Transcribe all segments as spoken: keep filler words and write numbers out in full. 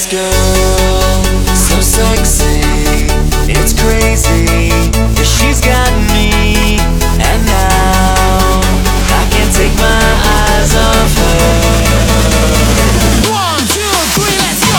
girl, so sexy, it's crazy. Yeah, she's got me, and now I can't take my eyes off her. One, two, three, let's go!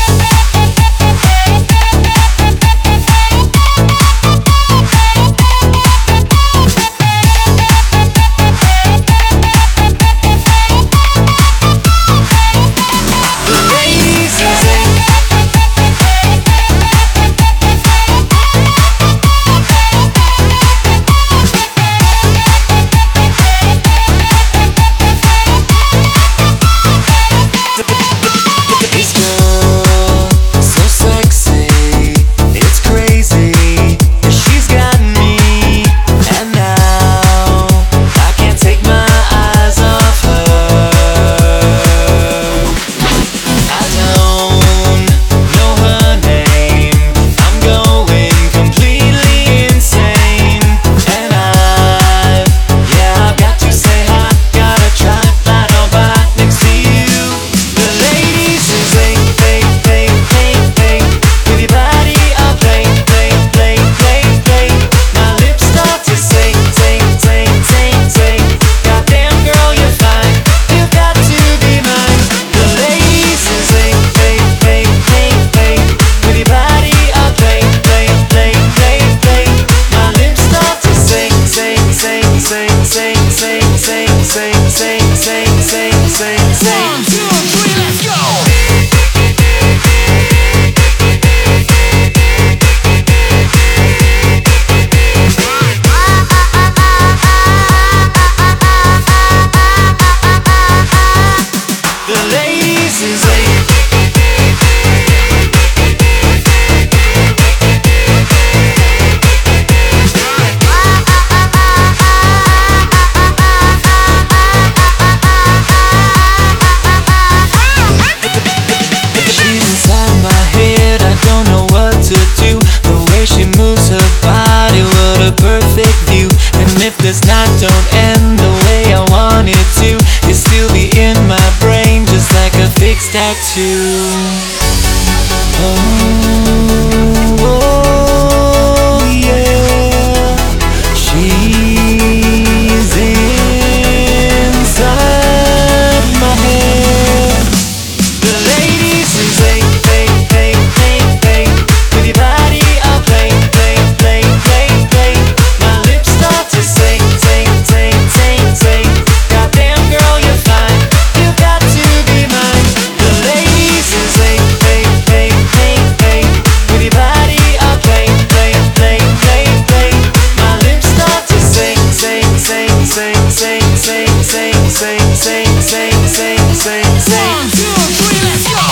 Tattoo. Oh, oh, yeah. She's inside my head. The ladies who say, play, play, play, play. With your body, I'll play, play, play, play, play. My lips start to say, say, say, say, say. Goddamn girl, you're fine. You've got to be mine. Say, play, play, play, play. With your body, I'll play, play, play, play, play. My lips start to say, say, say, say, say, say, say, say, say, say, say, say, say. One, two, three, let's go!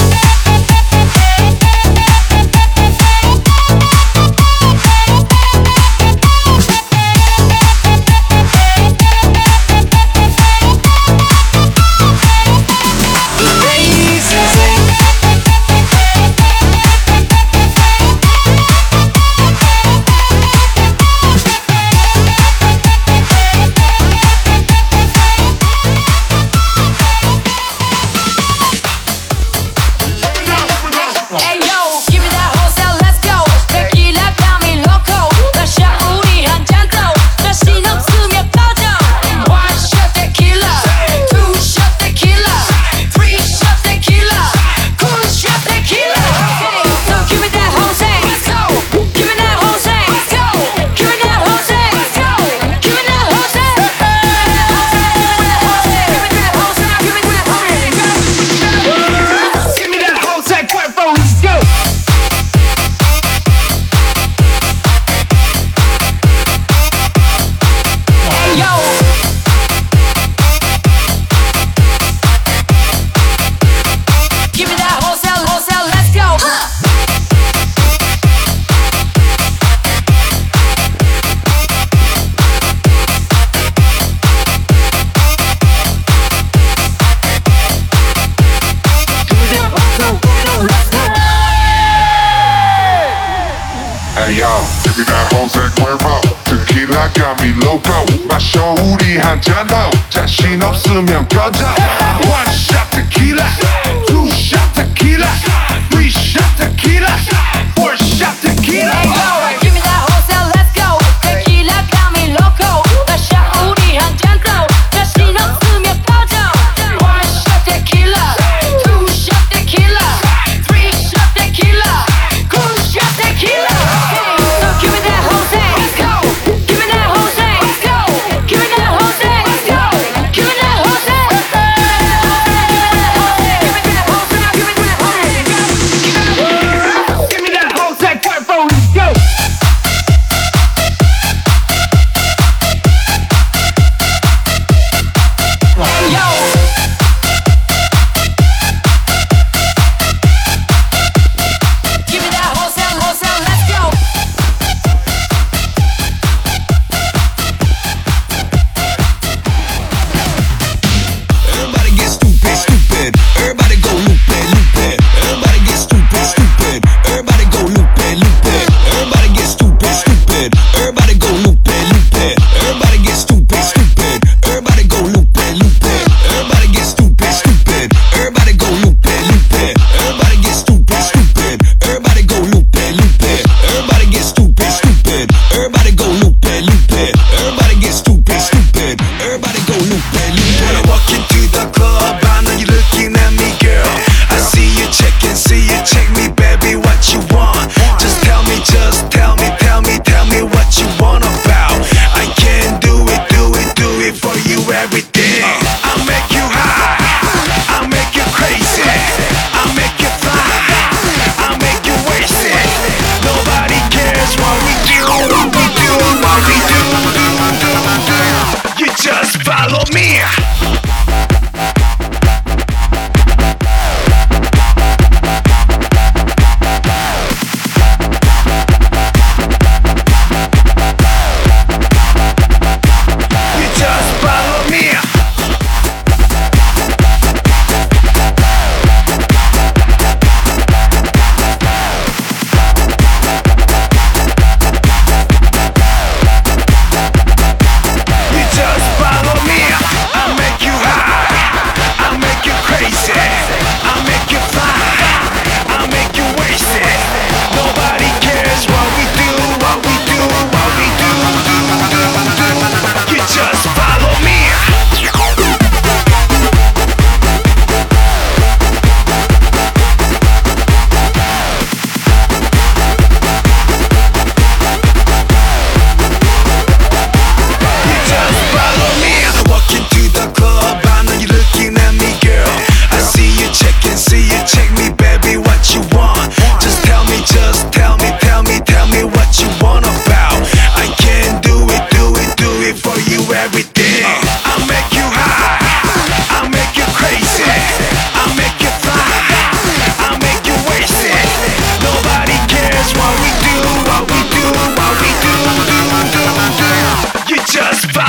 Hey yo, give me that Jose Cuervo. Tequila got me loco. 마셔 우리 한잔 더. 자신 없으면 꺼져. One shot tequila, two shot tequila.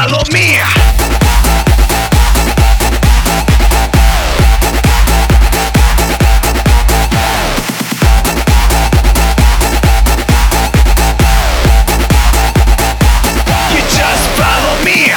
follow me. You just follow me.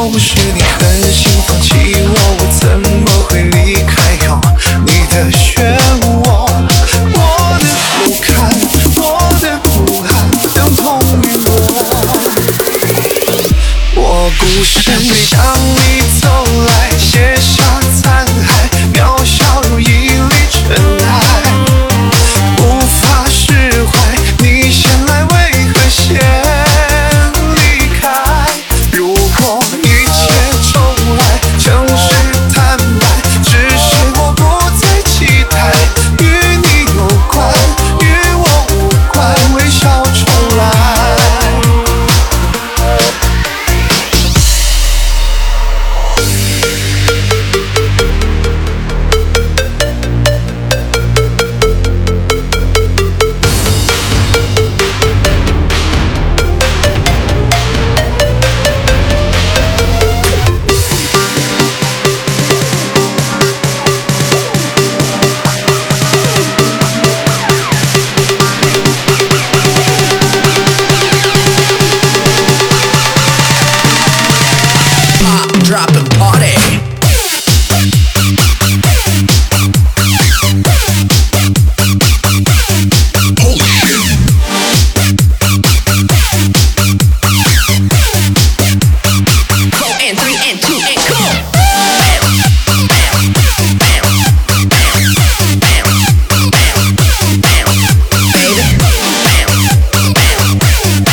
若不是你狠心放弃我，我怎么会离开有你的漩涡？我的不堪，我的不安，等同于我。我孤身向你走来，写下残骸，渺小如一粒尘埃，无法释怀。你先来，为何先离开？如果一切重来，诚实坦白，只是我不再期待。与你有关，与我无关，微笑重来。 Dropping party. Holy shit. Go and three and two and go. Bam, bam, bam, bam, bam, bam, bam, baby. Bam, bam, bam, bam,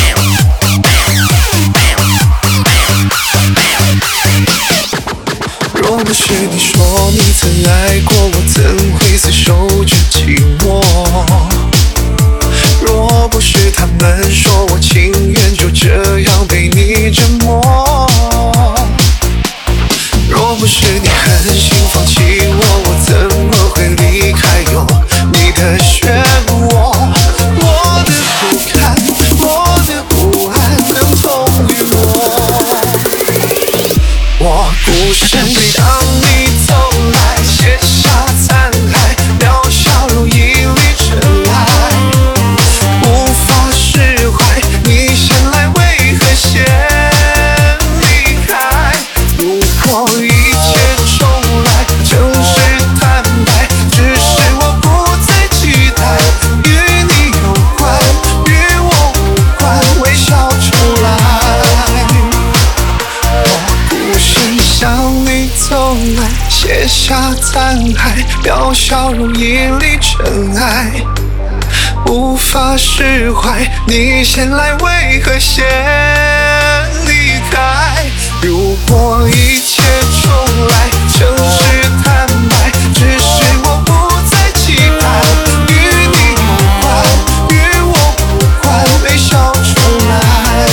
bam, bam. 若不是你说你曾爱过我，怎会厮守着寂寞？若不是他们说我情愿就这样被你折磨，若不是你狠心放弃我，我怎么会离开有你的漩涡？我的不堪，我的不安，等同于我。我孤身向你走来，写下残骸，渺小如一粒尘埃，无法释怀。你先来，为何先离开？如果一切重来，诚实坦白，只是我不再期待。与你有关，与我无关，微笑重来。孤身向你走来，写下残骸，渺小如一粒尘埃，无法释怀。你先来，为何先离开？如果一切重来，诚实坦白，只是我不再期待。与你有关，与我无关，微笑重来。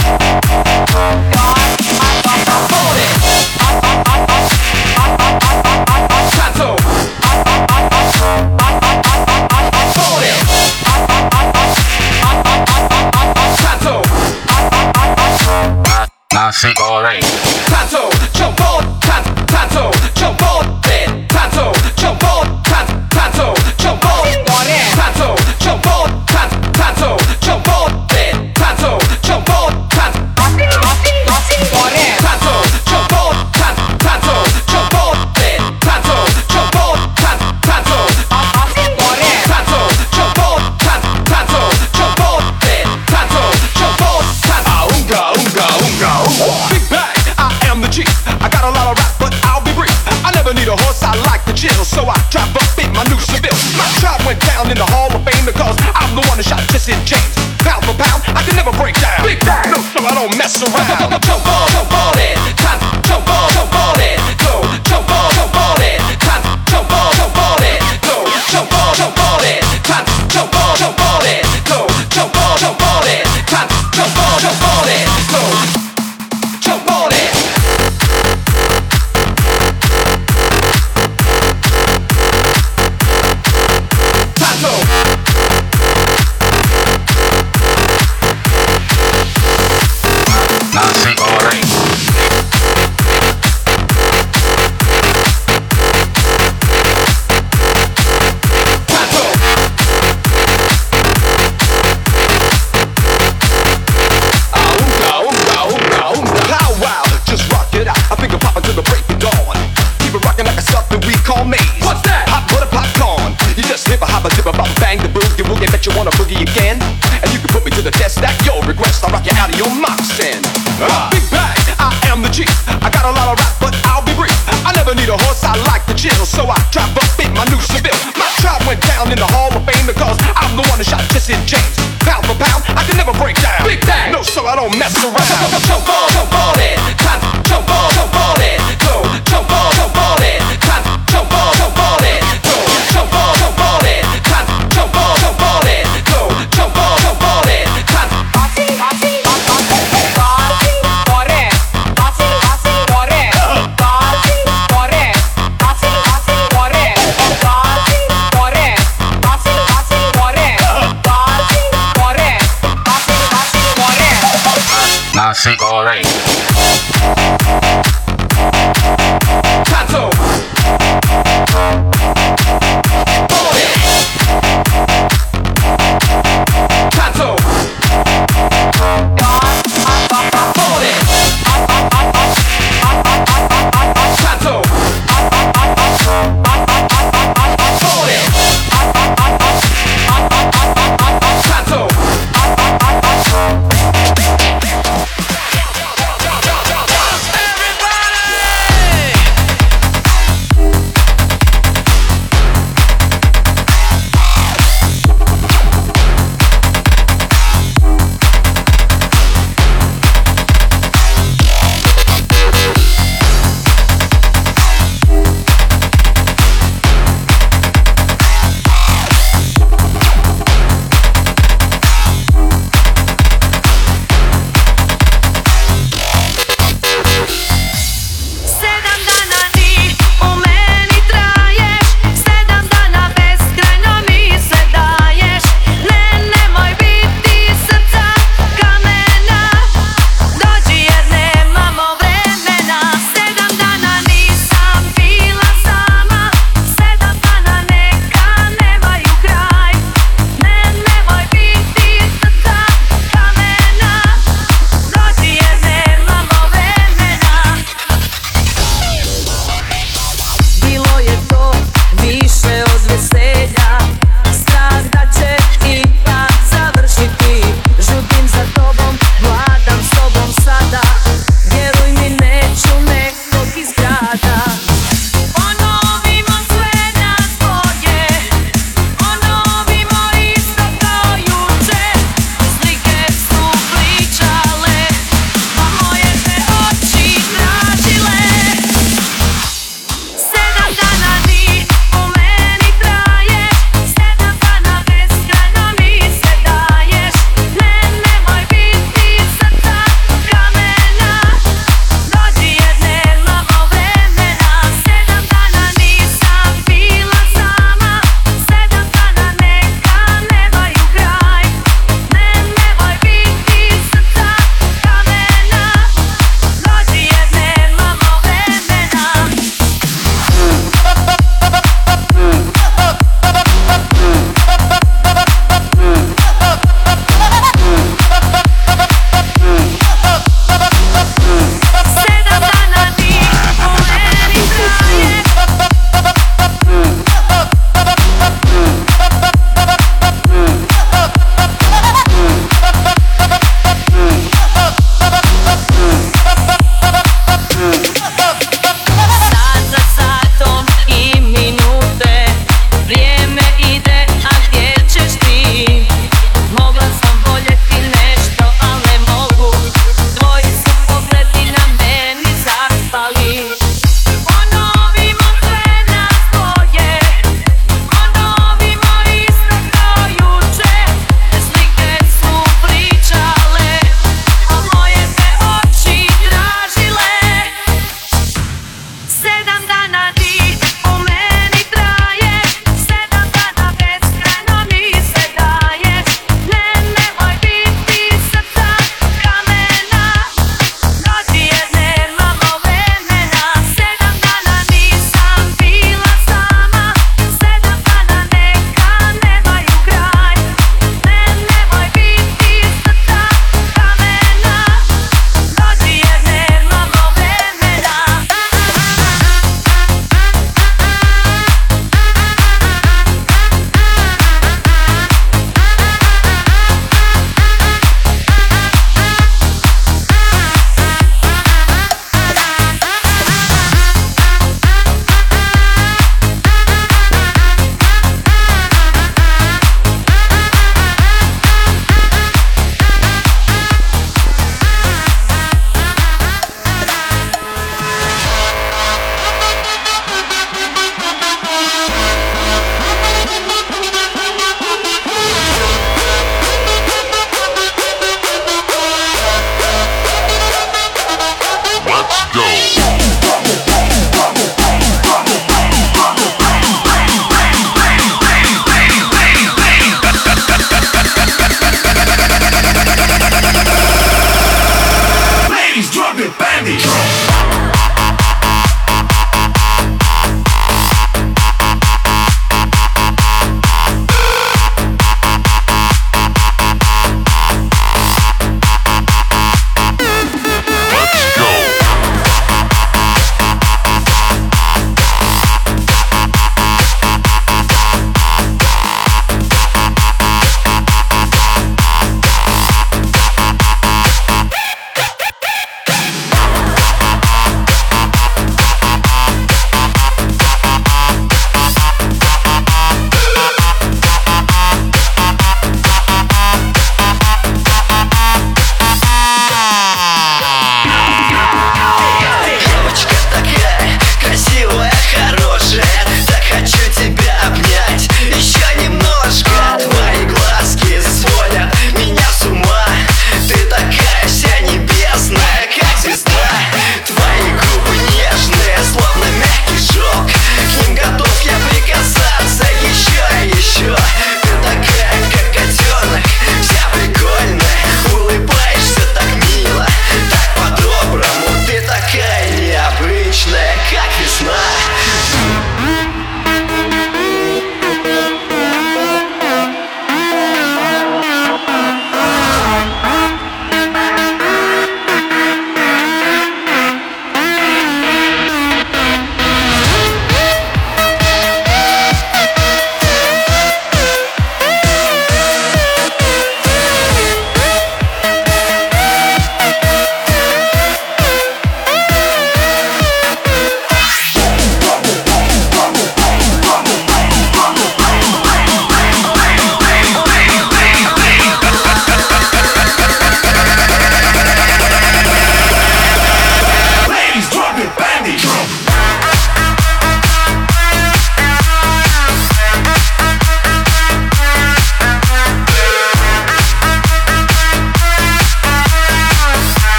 Cancel. Tanto, jumbo, tan, tanto, jumbo, de, tanto, jumbo, tan, tanto, jumbo, tanto, jumbo, tan, tanto, jumbo, de, tanto, jumbo, tan, tanto, jumbo, tan, tanto, jumbo, de, tanto, jumbo, tan, tanto, tanto, jumbo, tan, tanto, jumbo, de, tanto, jumbo, tan. Ah, unga, unga, unga, unga. Big bang, I am the G. I got a lot of rap, but I'll be brief. I never need a horse, I like the chill, so I drive up in my new Seville. My tribe went down in the Hall of Fame because I'm the one that shot Jesse James. Pound for pound, I can never break down. Big bang, no, so I don't mess around. Jump on, jump on it, tan, jump on, jump on it, go, jump on, jump on it, tan, jump on, jump on it, go, jump on, jump on it, tan, jump on, jump on it, go, jump on, jump on it, tan, jump on, jump on it, go, jump on it. Tanto. What's that? Hot butter popcorn. You just hip a hop a dip a bop bang the boogie woogie. Bet you wanna boogie again. And you can put me to the test. Stack your request. I'll rock you out of your moccasins. Uh, big bang, I am the G. I got a lot of rap, but I'll be brief. I never need a horse. I like the chill, so I drive up in my new Seville. My tribe went down in the Hall of Fame because I'm the one that shot Jesse James. Pound for pound, I can never break down. Big bang, no, so I don't mess around. Jump on, jump on it, tan, jump on, jump on it, go, jump on, jump on it, tan, jump on, jump on it, go, jump on, jump on it, tan, jump on, jump on it, go, jump on, jump on it, tan. Nasi goreng. Tanto. Bore. Tanto. Bore. Tanto. Bore. Tanto. Everybody!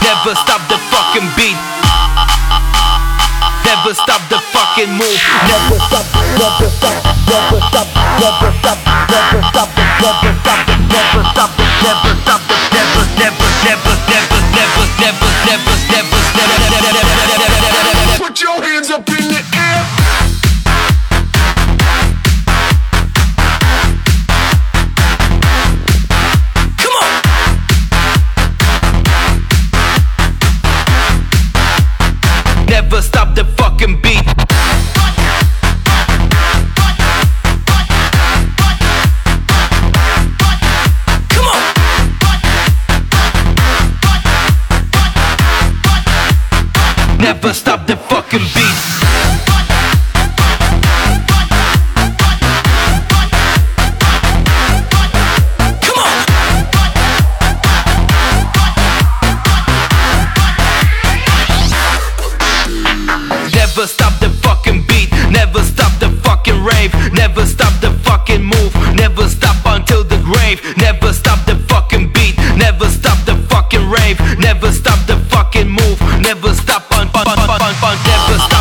Never stop the fucking beat. Never stop the fucking move. Never stop, never stop, never stop, never stop, never stop, never stop, never stop, never stop, never, never, never, never, never, never, never, never, never, never. Put your hands up in the air. Come on. Never stop the fucking beat. Come on. Never stop the fucking beat. Come on. Never stop the fucking beat. Never stop the fucking rave. Never stop the fucking move. Never stop until the grave. Never stop the fucking beat. Never stop the fucking rave. Never stop the fucking move. Never stop on, on, on, on, on. Never stop.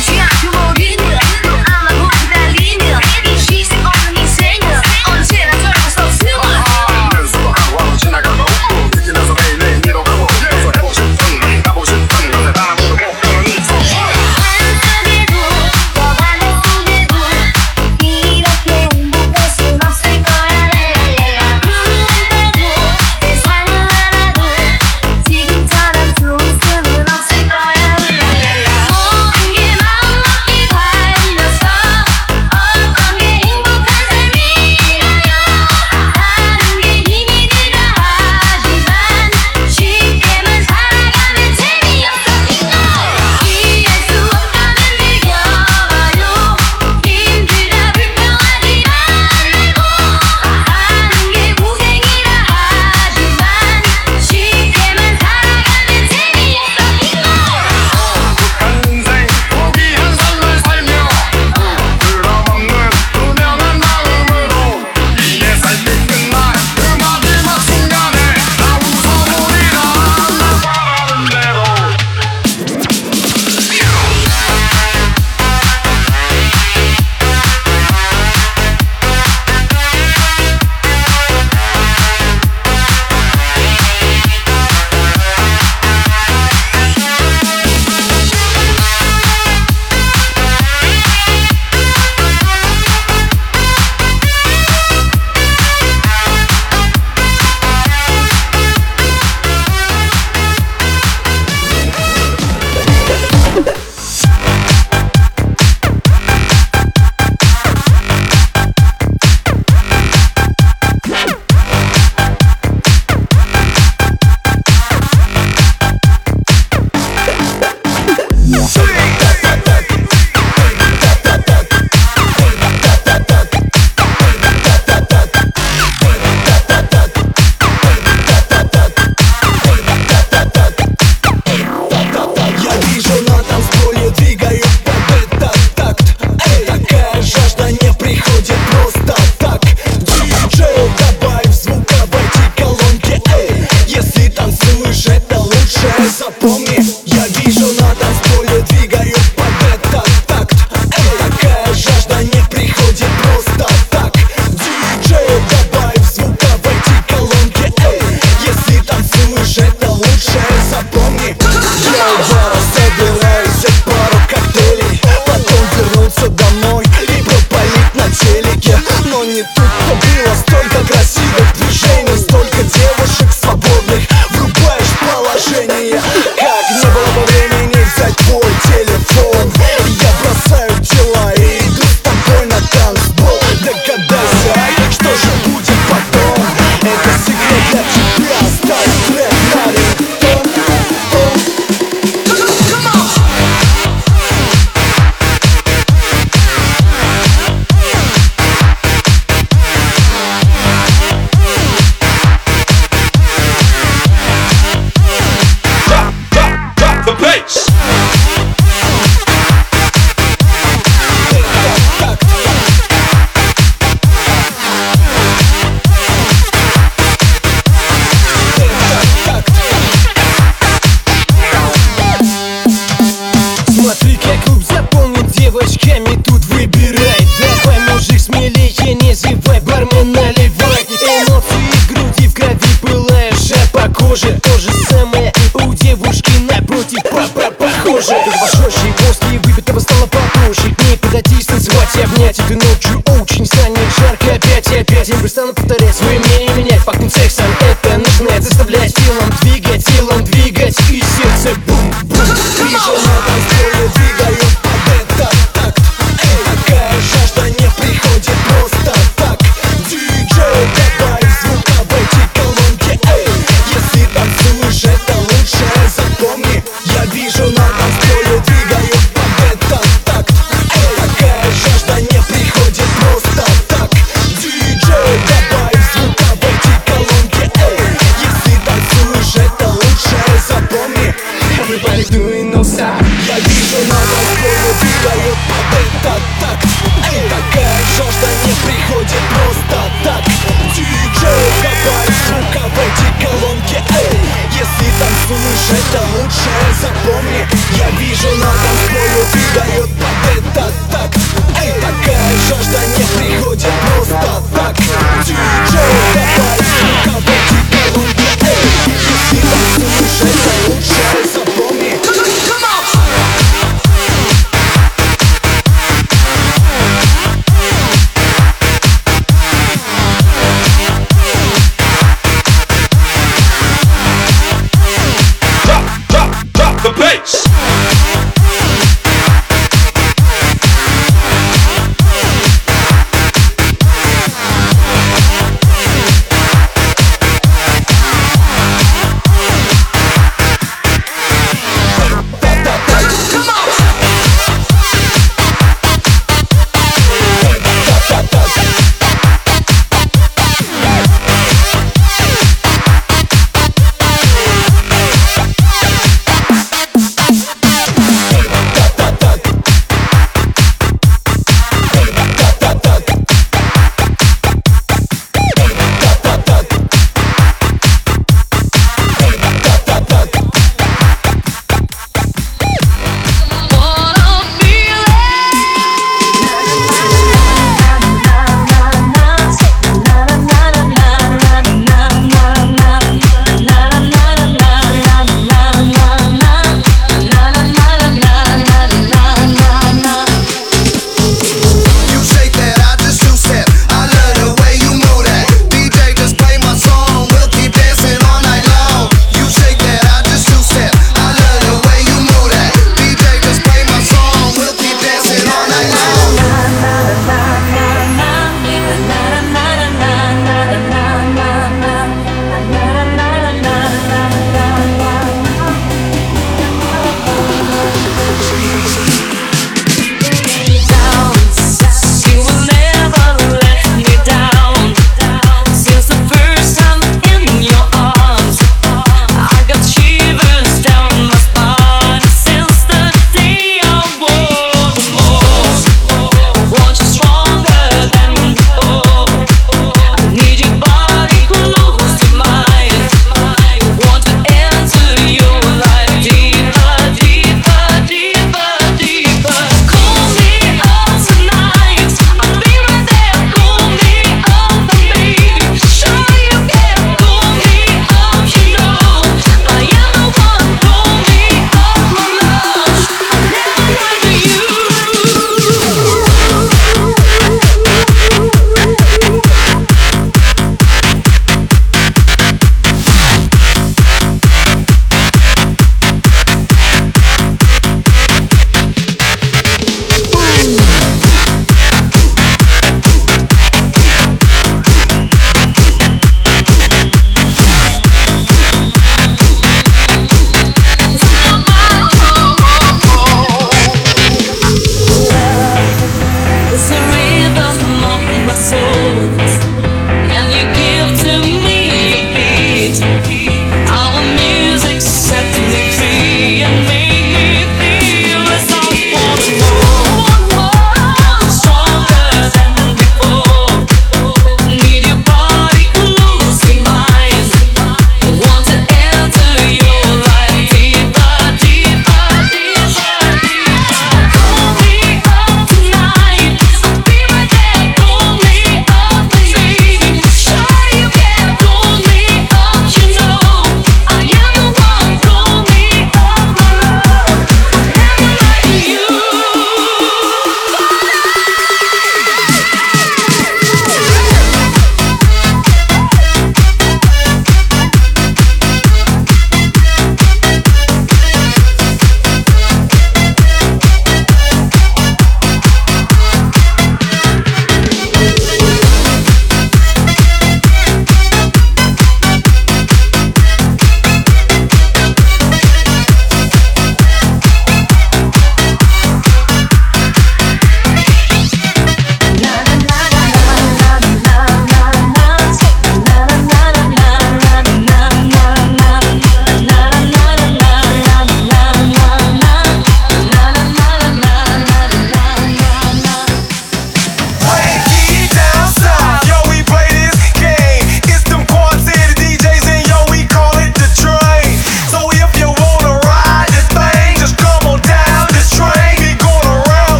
похоже. То же самое у девушки напротив, похоже. Пошедшие после выпитого стало потуже. К ней подойти, станцевать и обнять. Этой ночью очень станет жарко опять и опять. Я перестану повторять свое мнение, менять. Пахнет сексом, это начинает заставлять телом двигать, телом двигать. И сердце бум-бум. Вижу на танцполе, двигаю под этот такт. Такая жажда не приходит просто так. Диджей, добавь звука в эти колонки. Эй, если танцуешь, это лучше запомни. Я вижу на танцполе, двигаю под этот такт. Такая жажда не приходит просто так. Диджей, добавь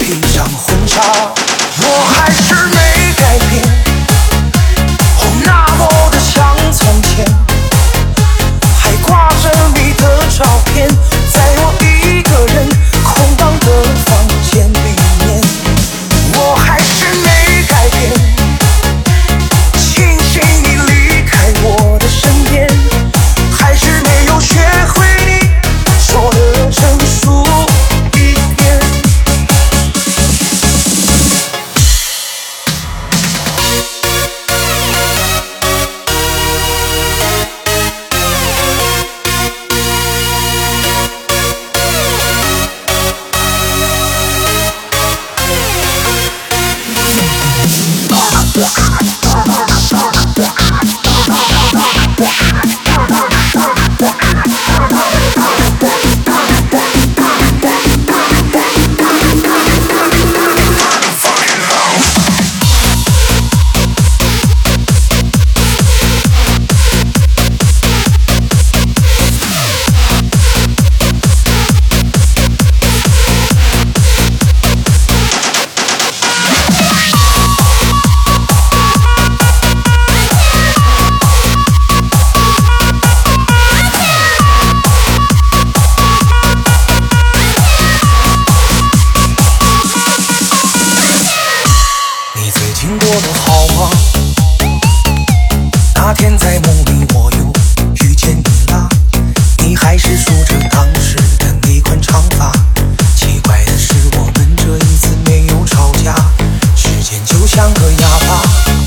披上婚纱，我还是没改变，哦，那么的像从前，还挂着你的照片，在我一个人空荡的房间里面，我还是没改变，庆幸你离开我的身边，还是没有学会你说的成熟一点。你最近过得好吗？那天在梦里我又遇见你了，你还是梳着当时的那款长发。奇怪的是我们这一次没有吵架，时间就像个哑巴，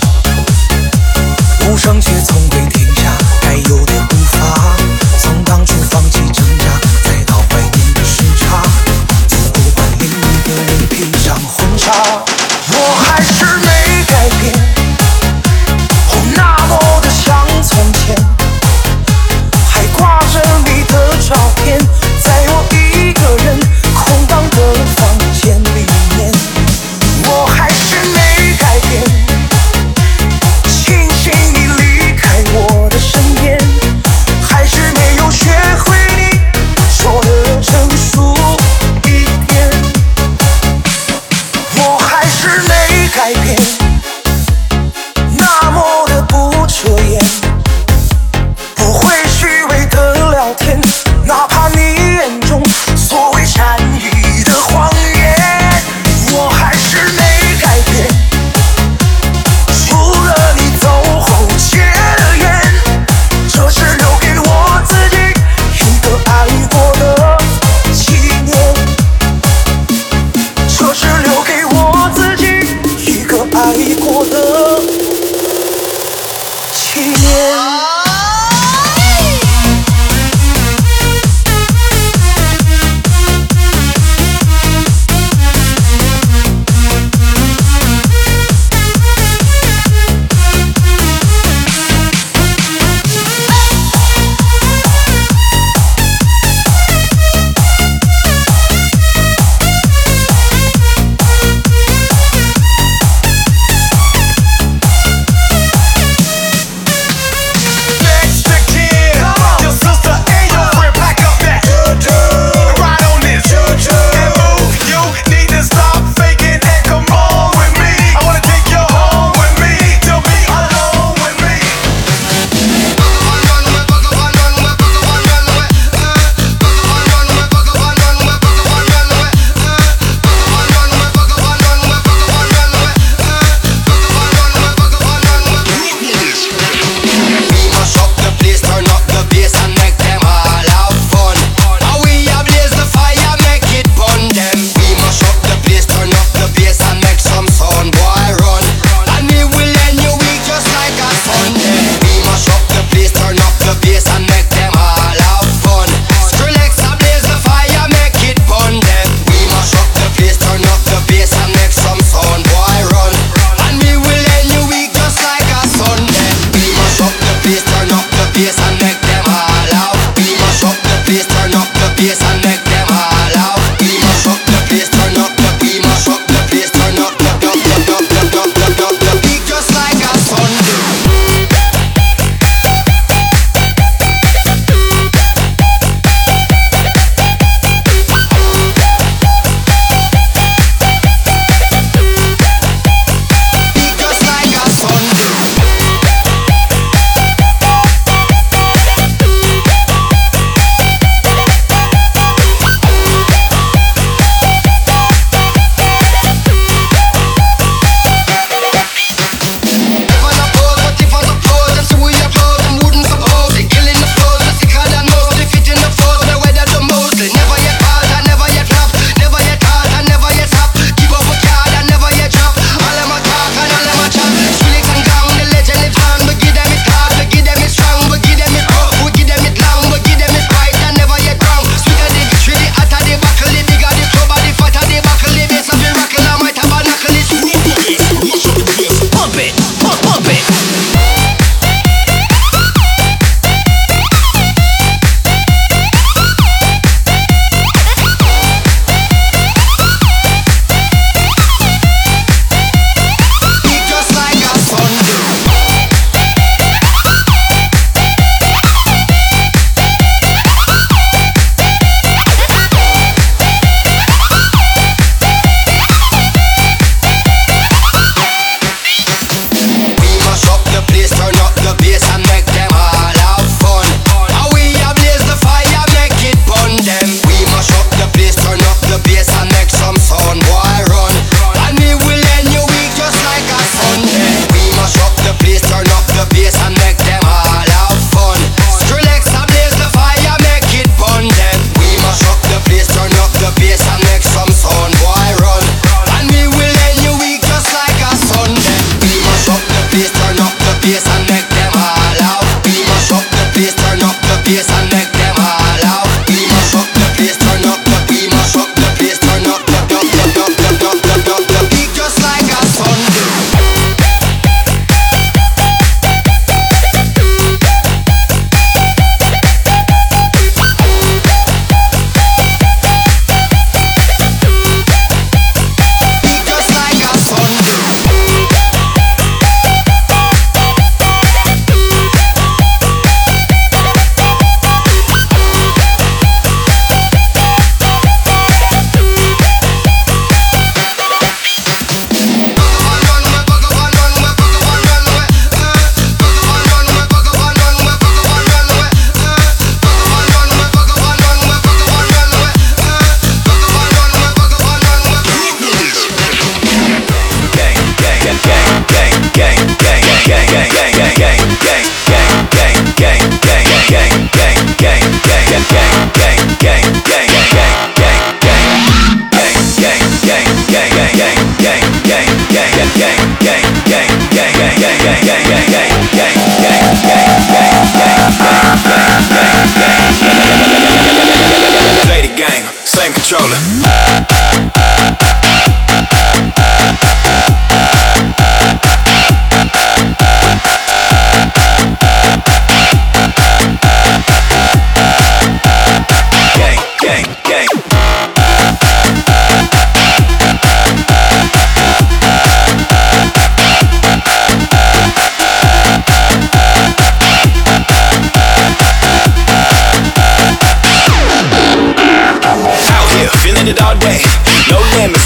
无声却从未停下该有的步伐。从当初放弃挣扎，再到怀念的时差，从不管另一个人披上婚纱，我还是没改变，哦，那么的像从前，还挂着你的照片，在我一个人空荡的房间里面，我还是没改变，庆幸你离开我的身边，还是没有学会你说的成熟一点，我还是没改变。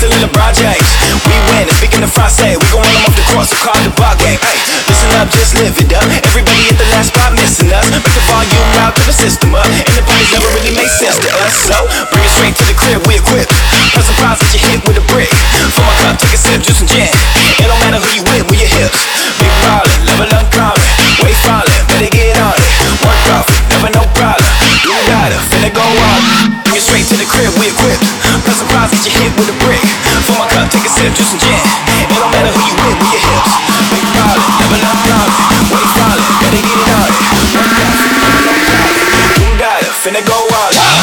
silly LeBron James. We win, and speaking of Francais, we gon' run them off the court, so call the ball game. Hey, listen up, just live it up. Everybody at the last spot missing us. Make the volume loud, to the system up. And the parties never really make sense to us. So, bring it straight to the crib, we equipped. Plus surprise that you hit with a brick. Fill my cup, take a sip, juice and gin. It don't matter who you with, with your hips. Big ballin', level up common. Wait fallin', better get on it. Work off, never no problem. You got it, finna go on. Bring it straight to the crib, we equipped. Plus surprise that you hit with a brick. Fill my cup, take a sip, juice and gin. It don't matter who you with, with your hips. Big ballin', level up common. Wait fallin', better get it on it. Work off, never no problem. You got it, finna go on.